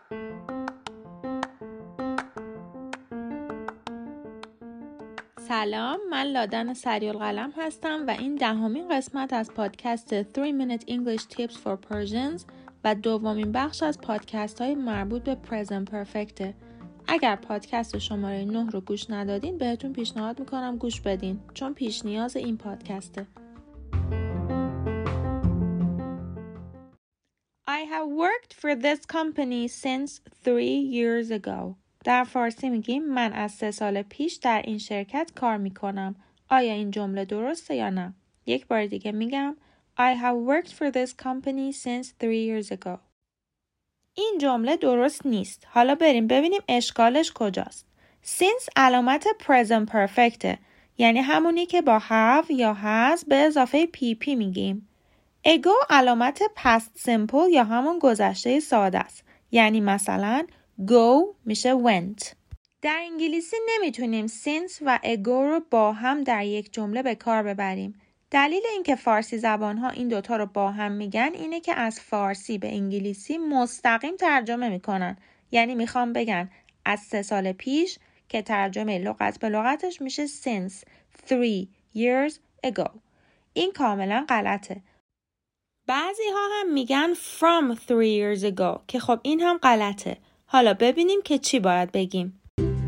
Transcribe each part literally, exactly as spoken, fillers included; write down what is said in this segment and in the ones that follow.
سلام، من لادن سریالقلم هستم و این دهمین قسمت از پادکست three minute English Tips for Persians و دومین بخش از پادکست های مربوط به Present Perfect. اگر پادکست شماره نه رو گوش ندادین بهتون پیشنهاد میکنم گوش بدین چون پیش نیاز این پادکسته. I have worked for this company since three years ago. در فارسی میگیم من از سه سال پیش در این شرکت کار میکنم. آیا این جمله درسته یا نه؟ یک بار دیگه میگم I have worked for this company since three years ago. این جمله درست نیست. حالا بریم ببینیم اشکالش کجاست. Since علامت present perfect، یعنی همونی که با have یا has به اضافه پی پی میگیم. ago علامت past simple یا همون گذشته ساده است. یعنی مثلا go میشه went. در انگلیسی نمیتونیم since و ago رو با هم در یک جمله به کار ببریم. دلیل اینکه فارسی زبان‌ها این دوتا رو با هم میگن اینه که از فارسی به انگلیسی مستقیم ترجمه میکنن. یعنی میخوام بگن از سه سال پیش که ترجمه لغت به لغتش میشه since three years ago. این کاملا غلطه. بعضی ها هم میگن from three years ago که خب این هم غلطه. حالا ببینیم که چی باید بگیم.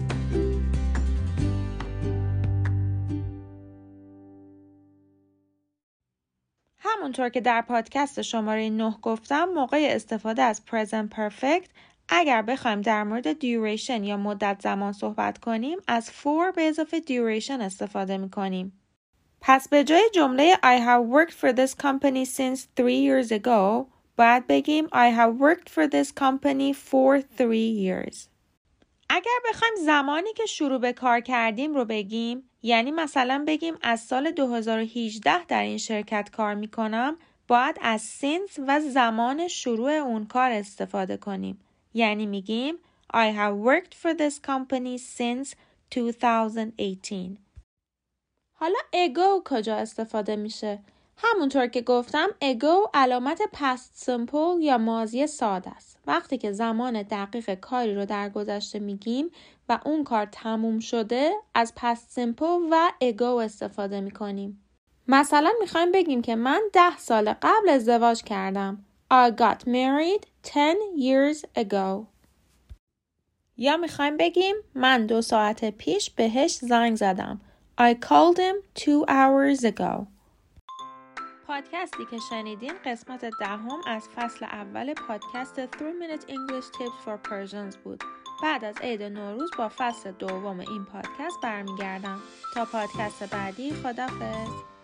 همونطور که در پادکست شماره نه گفتم موقع استفاده از present perfect اگر بخوایم در مورد duration یا مدت زمان صحبت کنیم از for به اضافه duration استفاده میکنیم. پس به جای جمله I have worked for this company since three years ago باید بگیم I have worked for this company for three years. اگر بخوایم زمانی که شروع به کار کردیم رو بگیم، یعنی مثلا بگیم از سال دو هزار و هجده در این شرکت کار میکنم، باید از since و زمان شروع اون کار استفاده کنیم. یعنی میگیم I have worked for this company since two thousand eighteen. حالا ago کجا استفاده میشه؟ همونطور که گفتم ago علامت past simple یا ماضی ساده است. وقتی که زمان دقیق کاری رو در گذشته میگیم و اون کار تموم شده از past simple و ago استفاده میکنیم. مثلا میخوایم بگیم که من ده سال قبل ازدواج کردم. I got married ten years ago. یا میخوایم بگیم من دو ساعت پیش بهش زنگ زدم. I called him two hours ago. پادکستی که شنیدین قسمت دهم از فصل اول پادکست three minute English Tips for Persians بود. بعد از عید نوروز با فصل دوم این پادکست برمیگردم. تا پادکست بعدی خداحافظ.